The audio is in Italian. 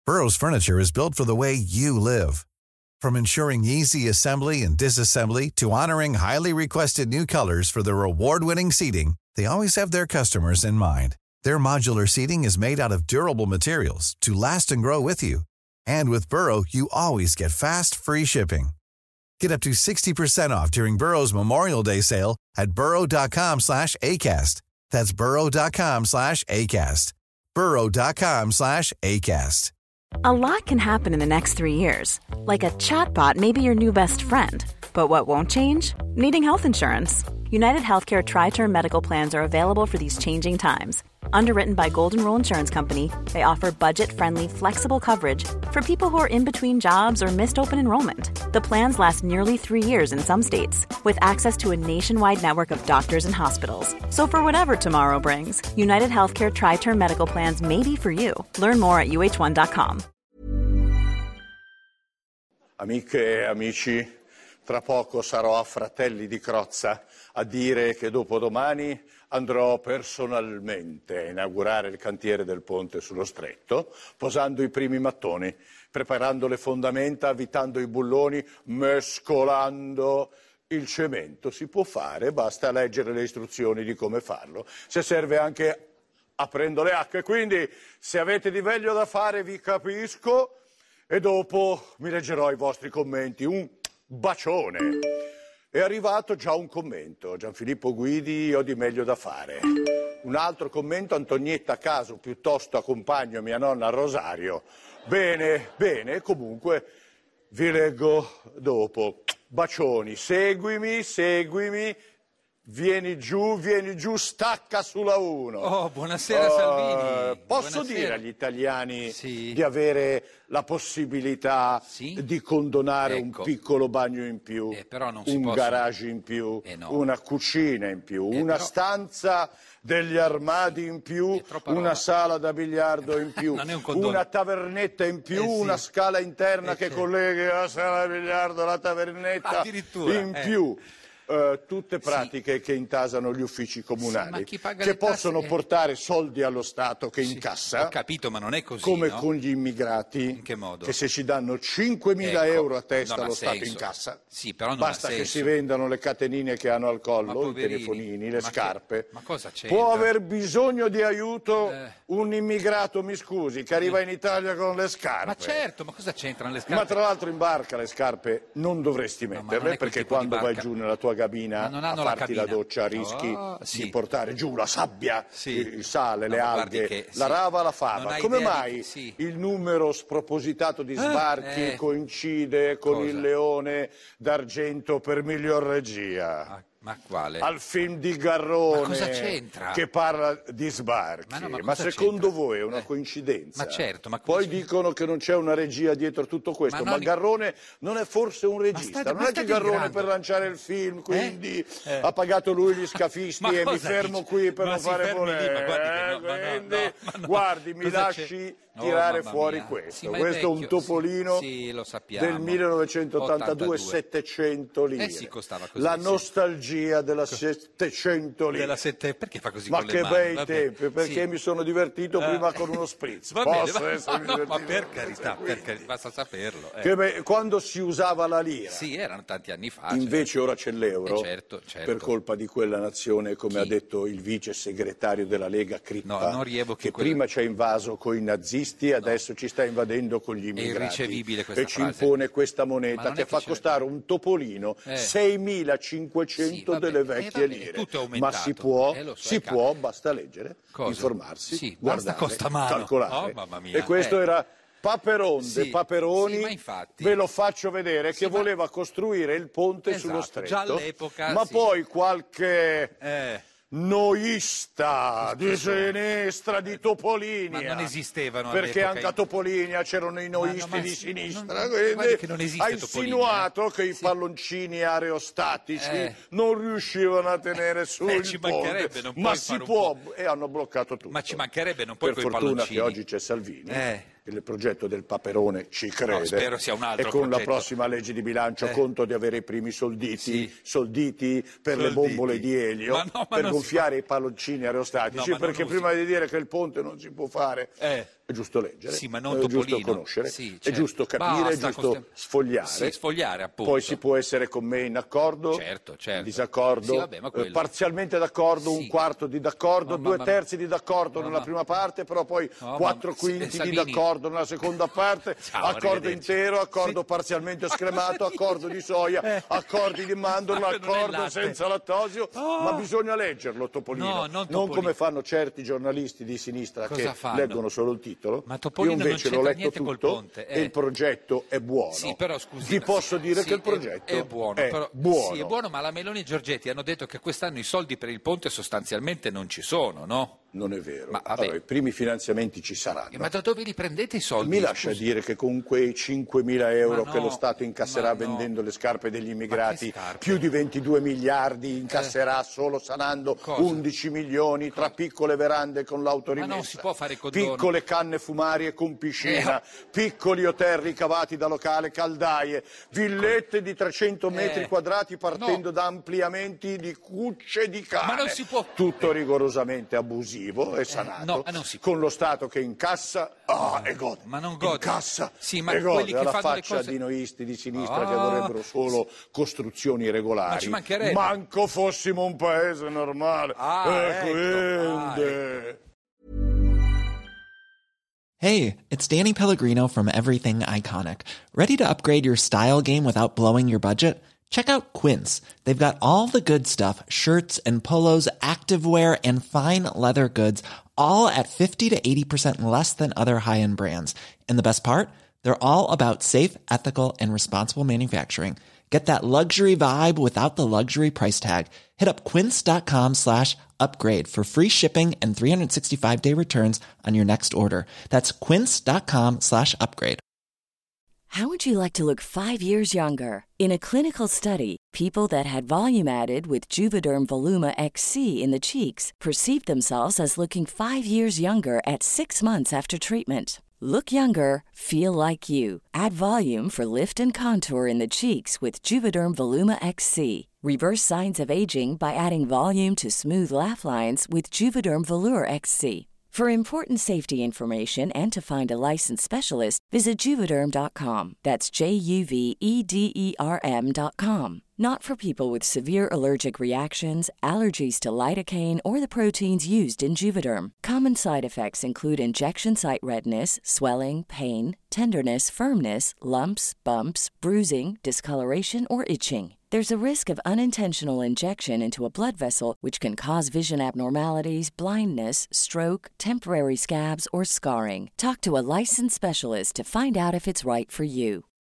Burrow's furniture is built for the way you live. From ensuring easy assembly and disassembly to honoring highly requested new colors for their award-winning seating, they always have their customers in mind. Their modular seating is made out of durable materials to last and grow with you. And with Burrow, you always get fast, free shipping. Get up to 60% off during Burrow's Memorial Day sale at burrow.com/ACAST. That's burrow.com/ACAST. burrow.com/ACAST. A lot can happen in the next 3 years. Like a chatbot may be your new best friend. But what won't change? Needing health insurance. United Healthcare Tri-Term Medical Plans are available for these changing times. Underwritten by Golden Rule Insurance Company, they offer budget-friendly, flexible coverage for people who are in between jobs or missed open enrollment. The plans last nearly 3 years in some states, with access to a nationwide network of doctors and hospitals. So for whatever tomorrow brings, United Healthcare Tri-Term Medical Plans may be for you. Learn more at uh1.com. Amiche e amici, tra poco sarò a Fratelli di Crozza a dire che dopodomani andrò personalmente a inaugurare il cantiere del ponte sullo Stretto, posando i primi mattoni, preparando le fondamenta, avvitando i bulloni, mescolando il cemento. Si può fare, basta leggere le istruzioni di come farlo. Se serve anche aprendo le acque, quindi se avete di meglio da fare vi capisco e dopo mi leggerò i vostri commenti. Un bacione. È arrivato già un commento. Gianfilippo Guidi, ho di meglio da fare. Un altro commento, Antonietta a caso, piuttosto accompagno mia nonna al rosario. Bene, bene, comunque vi leggo dopo. Bacioni, seguimi, seguimi. Vieni giù, stacca sulla 1. Oh, buonasera Salvini. Posso Buonasera. dire agli italiani Sì. di avere la possibilità Sì? di condonare Ecco. un piccolo bagno in più, però non si un possono. garage in più, No. una cucina in più, una però- stanza degli armadi in più, È troppa roba. una sala da biliardo in più, Non è un condono. una tavernetta in più, Sì. una scala interna che certo. colleghi la sala da biliardo alla tavernetta Addirittura, in più. Tutte pratiche che intasano gli uffici comunali, ma chi paga che le tasse? possono portare soldi allo Stato che incassa, Ho capito, ma non è così, come no? con gli immigrati, In che modo? che se ci danno 5.000 Ecco, euro a testa non ha lo Stato senso. incassa. Sì, però non Basta ha che senso. si vendano le catenine che hanno al Ma collo, i poverini, telefonini, le ma che- scarpe. ma cosa c'entra? Può aver bisogno di aiuto un immigrato, mi scusi, che arriva in Italia con le scarpe. Ma certo, ma cosa c'entrano le Ma scarpe? tra l'altro in barca le scarpe non dovresti ma non metterle, è quel perché tipo di quando vai barca. giù nella tua cabina Ma non a hanno la farti la cabina. doccia rischi Oh, sì. di portare giù la sabbia, Sì. il sale, No, le ma guardi alghe, che- la sì. rava, la Non fava. hai Come idea di mai che- sì. il numero spropositato di sbarchi coincide con Cosa? il Leone d'argento per miglior regia? Ma quale? Al film di Garrone Ma cosa c'entra? che parla di sbarchi. Ma no, ma Ma cosa secondo c'entra? voi è una coincidenza? Ma certo, ma come Poi si- dicono che non c'è una regia dietro tutto questo, Ma ma, no, Garrone non è forse un regista? state- non ma è che state Garrone delirando. per lanciare il film quindi Eh? ha pagato lui gli scafisti Ma e mi cosa fermo dici? qui per Ma non si fare fermi lì, ma guardi che no, ma no, quindi, ma no. guardi, mi Cosa lasci c'è? Oh, tirare mamma fuori mia. questo. Sì, ma è Questo è un vecchio, topolino sì, lo sappiamo. del 1982, 82. 700 lire. Sì, costava così, La sì. nostalgia della 700 lire. Perché fa così Ma con le che mani? bei Vabbè, tempi, perché sì. mi sono divertito prima con uno spritz. Va bene, Posso va- essermi no, ma divertito? per carità, basta saperlo. Quando si usava la lira, Sì, erano tanti anni fa. invece ora c'è l'euro, certo, certo. per colpa di quella nazione, come Chi? ha detto il vice segretario della Lega Crippa, No, non rievochi che quella- prima ci ha invaso con i nazisti e adesso ci sta invadendo con gli immigrati. irricevibile questa e ci frase. impone questa Ma moneta non è che che fa c'è- costare un topolino 6.500 Sì, vabbè, delle vecchie vabbè, lire. tutto è Ma aumentato. si può, Lo so, si cavolo. può, basta leggere, Cosa? informarsi, Sì, basta guardare, costa mano. calcolare. Oh, mamma mia. E questo era Paperonde, Sì, Paperoni, sì, ma infatti. ve lo faccio vedere, Sì, che ma- voleva costruire il ponte Esatto, sullo Stretto. già all'epoca, ma sì. poi qualche noista Chi di sono? sinistra, di Topolinia. Ma non esistevano Perché all'epoca anche a Topolinia c'erano i noisti ma di sì, sinistra. non- quindi guardi che non esiste ha Topolinia, insinuato che i palloncini aerostatici non riuscivano a tenere su il ci ponte. mancherebbe, non Ma puoi si fare un può, e hanno bloccato tutto. Ma ci mancherebbe, non puoi Per coi fortuna palloncini. che oggi c'è Salvini, che il progetto del Paperone ci crede. spero sia un altro e con progetto. la prossima legge di bilancio conto di avere i primi solditi per le Solditi. bombole di elio, Ma no, ma per non si gonfiare i palloncini aerostatici, No, ma non perché usi. prima di dire che il ponte non si può fare È giusto leggere, Sì, ma non è giusto Topolino. conoscere, Sì, è certo. giusto capire, è Basta giusto sfogliare. Sì, sfogliare, appunto. Poi si può essere con me in accordo, Certo. in disaccordo, Sì, vabbè, ma quello... parzialmente d'accordo, Sì. un quarto di d'accordo, No, due ma- terzi di d'accordo no, nella ma- prima parte, però poi No, ma- quattro quinti Salvini. di d'accordo nella seconda parte, Ciao, accordo arrivederci. intero, accordo Sì. parzialmente scremato, accordo di soia, accordi di mandorla, Non è accordo latte. senza lattosio, ma bisogna leggerlo Topolino, No, non non Topolino. come fanno certi giornalisti di sinistra Cosa che fanno? leggono solo il titolo. Ma Topolino Io non invece l'ho c'entra letto niente col tutto ponte, e il progetto è buono. Sì, però scusi. Vi posso dire sì, che il progetto è buono, però, buono. Sì, è buono, ma la Meloni e Giorgetti hanno detto che quest'anno i soldi per il ponte sostanzialmente non ci sono, no? Non è vero. Ma vabbè. Allora, i primi finanziamenti ci saranno. Ma da dove li prendete i soldi? Mi lascia scusi? dire che con quei 5.000 euro Ma che no, lo Stato incasserà ma no. vendendo le scarpe degli Ma immigrati, che scarpe? più di 22 miliardi incasserà solo sanando Cosa? 11 milioni tra piccole verande con l'autorimessa, Ma non si può fare i condoni. piccole canne fumarie con piscina, piccoli hotel ricavati da locale, caldaie, villette di 300 metri quadrati partendo no. da ampliamenti di cucce di cane. Ma non si può- Tutto rigorosamente abusivo e sanato, no, non si può. con lo Stato che incassa e gode. Ma non gode. Incassa Sì, ma e gode, quelli che alla fanno le faccia cose- di noisti di sinistra che vorrebbero solo costruzioni regolari. Ma ci mancherebbe. Manco fossimo un paese normale. Quindi... Hey, it's Danny Pellegrino from Everything Iconic. Ready to upgrade your style game without blowing your budget? Check out Quince. They've got all the good stuff, shirts and polos, activewear, and fine leather goods, all at 50 to 80% less than other high-end brands. And the best part? They're all about safe, ethical, and responsible manufacturing. Get that luxury vibe without the luxury price tag. Hit up quince.com/upgrade for free shipping and 365-day returns on your next order. That's quince.com/upgrade. How would you like to look 5 years younger? In a clinical study, people that had volume added with Juvederm Voluma XC in the cheeks perceived themselves as looking 5 years younger at 6 months after treatment. Look younger, feel like you. Add volume for lift and contour in the cheeks with Juvederm Voluma XC. Reverse signs of aging by adding volume to smooth laugh lines with Juvederm Volure XC. For important safety information and to find a licensed specialist, visit Juvederm.com. That's JUVEDERM.com. Not for people with severe allergic reactions, allergies to lidocaine, or the proteins used in Juvederm. Common side effects include injection site redness, swelling, pain, tenderness, firmness, lumps, bumps, bruising, discoloration, or itching. There's a risk of unintentional injection into a blood vessel, which can cause vision abnormalities, blindness, stroke, temporary scabs, or scarring. Talk to a licensed specialist to find out if it's right for you.